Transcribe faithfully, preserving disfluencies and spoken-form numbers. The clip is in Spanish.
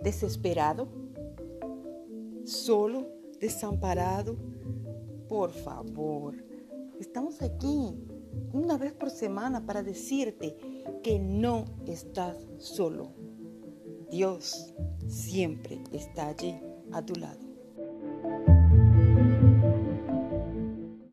desesperado, solo, desamparado. Por favor, estamos aquí una vez por semana para decirte que no estás solo. Dios siempre está allí a tu lado.